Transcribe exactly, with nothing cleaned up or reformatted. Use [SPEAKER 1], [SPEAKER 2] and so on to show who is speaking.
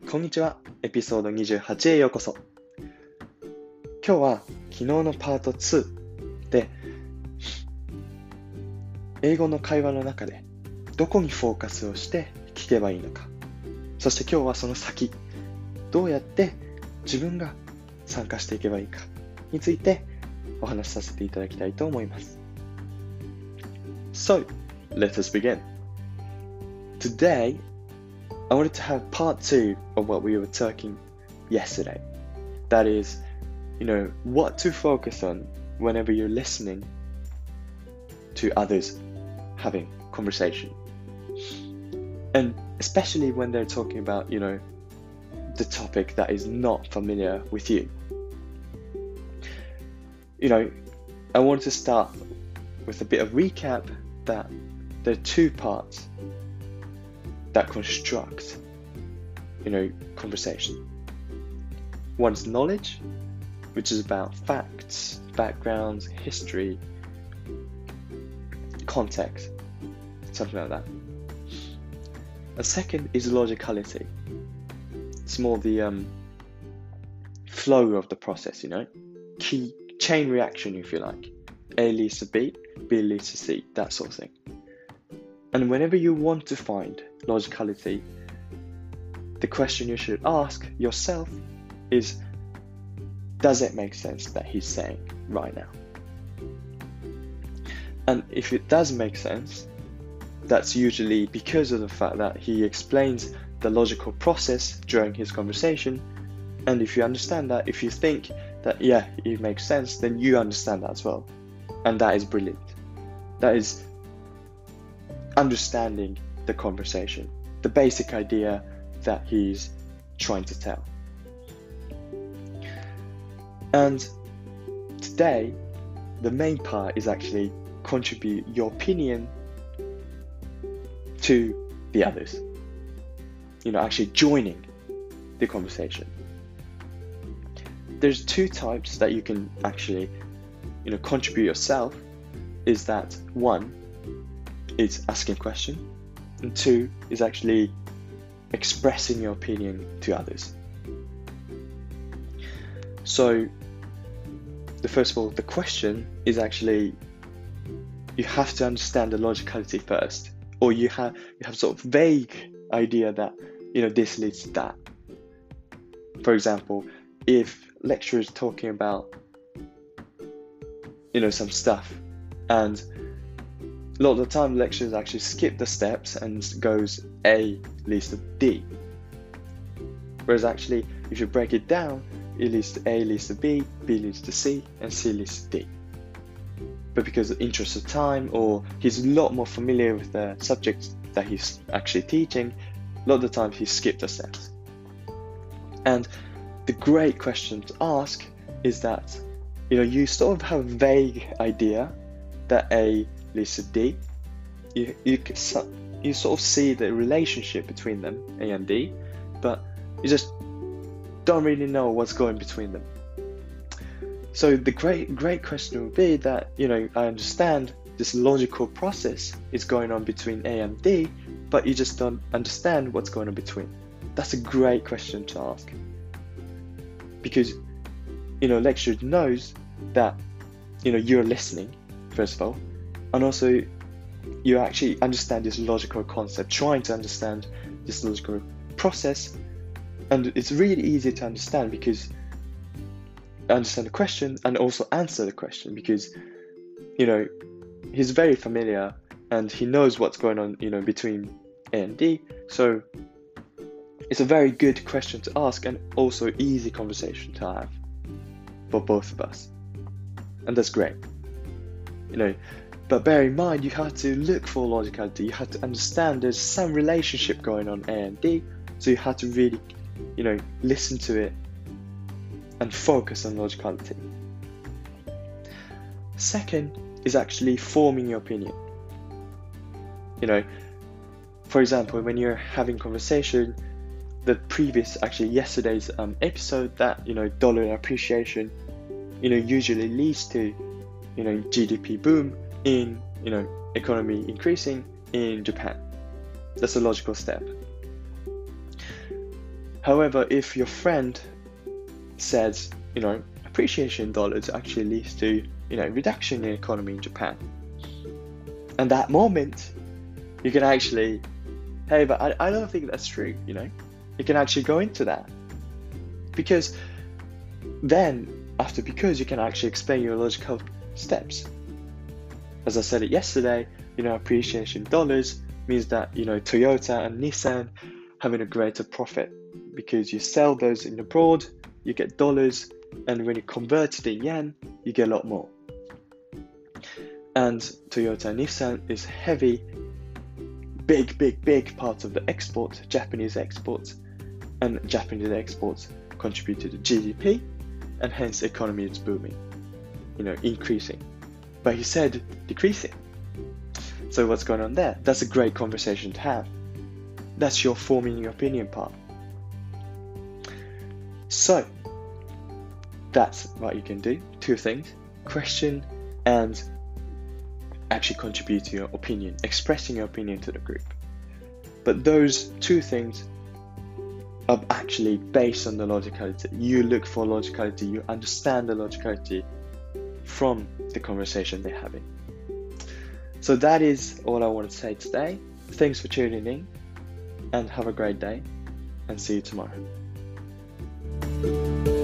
[SPEAKER 1] こんにちは。エピソードにじゅうはちへようこそ。今日は昨日のパートにで、英語の会話の中でどこにフォーカスをして聞けばいいのか、そして今日はその先、どうやって自分が参加していけばいいかについてお話しさせていただきたいと思います。So, let us begin. Today, I wanted to have part two of what we were talking yesterday. That is, you know, what to focus on whenever you're listening to others having conversation. And especially when they're talking about, you know, the topic that is not familiar with you. You know, I want to start with a bit of recap that there are two parts that construct, you know, conversation. One's knowledge, which is about facts, backgrounds, history, context, something like that. A second is logicality. It's more the um, flow of the process, you know, key chain reaction, if you like. A leads to B, B leads to C, that sort of thing. And whenever you want to find logicality, the question you should ask yourself is, does it make sense that he's saying right now? And if it does make sense, that's usually because of the fact that he explains the logical process during his conversation. And if you understand that, if you think that, yeah, it makes sense, then you understand that as well. And that is brilliant. That is understanding the conversation, the basic idea that he's trying to tell. And today, the main part is actually contribute your opinion to the others. You know, actually joining the conversation. There's two types that you can actually, you know, contribute yourself. Is that one is asking a question, and two is actually expressing your opinion to others. So, the first of all, the question is actually, you have to understand the logicality first, or you have you have sort of vague idea that, you know, this leads to that. For example, if lecturer is talking about, you know, some stuff, and a lot of the time lecturers actually skip the steps and goes A leads to D. Whereas actually, if you break it down, it leads to A leads to B, B leads to C, and C leads to D. But because of interest of time, or he's a lot more familiar with the subject that he's actually teaching, a lot of the time he skipped the steps. And the great question to ask is that, you know, you sort of have a vague idea that A leads to D. You, you, you sort of see the relationship between them, A and D, but you just don't really know what's going between them. So the great great question would be that, you know, I understand this logical process is going on between A and D, but you just don't understand what's going on between. That's a great question to ask. Because, you know, lecturer knows that, you know, you're listening, first of all, and also you actually understand this logical concept, trying to understand this logical process. And it's really easy to understand because understand the question and also answer the question, because, you know, he's very familiar and he knows what's going on, you know, between A and D. So it's a very good question to ask, and also easy conversation to have for both of us. And that's great, you know. But bear in mind, you have to look for logicality. You have to understand there's some relationship going on A and D. So you have to really, you know, listen to it and focus on logicality. Second is actually forming your opinion. You know, for example, when you're having conversation, the previous, actually yesterday's um, episode, that, you know, dollar appreciation, you know, usually leads to, you know, G D P boom in, you know, economy increasing in Japan. That's a logical step. However, if your friend says, you know, appreciation in dollars actually leads to, you know, reduction in economy in Japan, and that moment, you can actually, hey, but I, I don't think that's true, you know, you can actually go into that. Because then, after because, you can actually explain your logical steps. As I said it yesterday, you know, appreciation in dollars means that, you know, Toyota and Nissan having a greater profit because you sell those in abroad, you get dollars, and when you convert it in yen, you get a lot more. And Toyota and Nissan is heavy, big, big, big part of the export, Japanese exports, and Japanese exports contribute to the G D P, and hence the economy is booming, you know, increasing. But he said decreasing. So what's going on there? That's a great conversation to have. That's your forming your opinion part. So that's what you can do. Two things: question and actually contribute to your opinion, expressing your opinion to the group. But those two things are actually based on the logicality. You look for logicality, you understand the logicality from the conversation they're having. So that is all I want to say today. Thanks for tuning in, and have a great day, and see you tomorrow.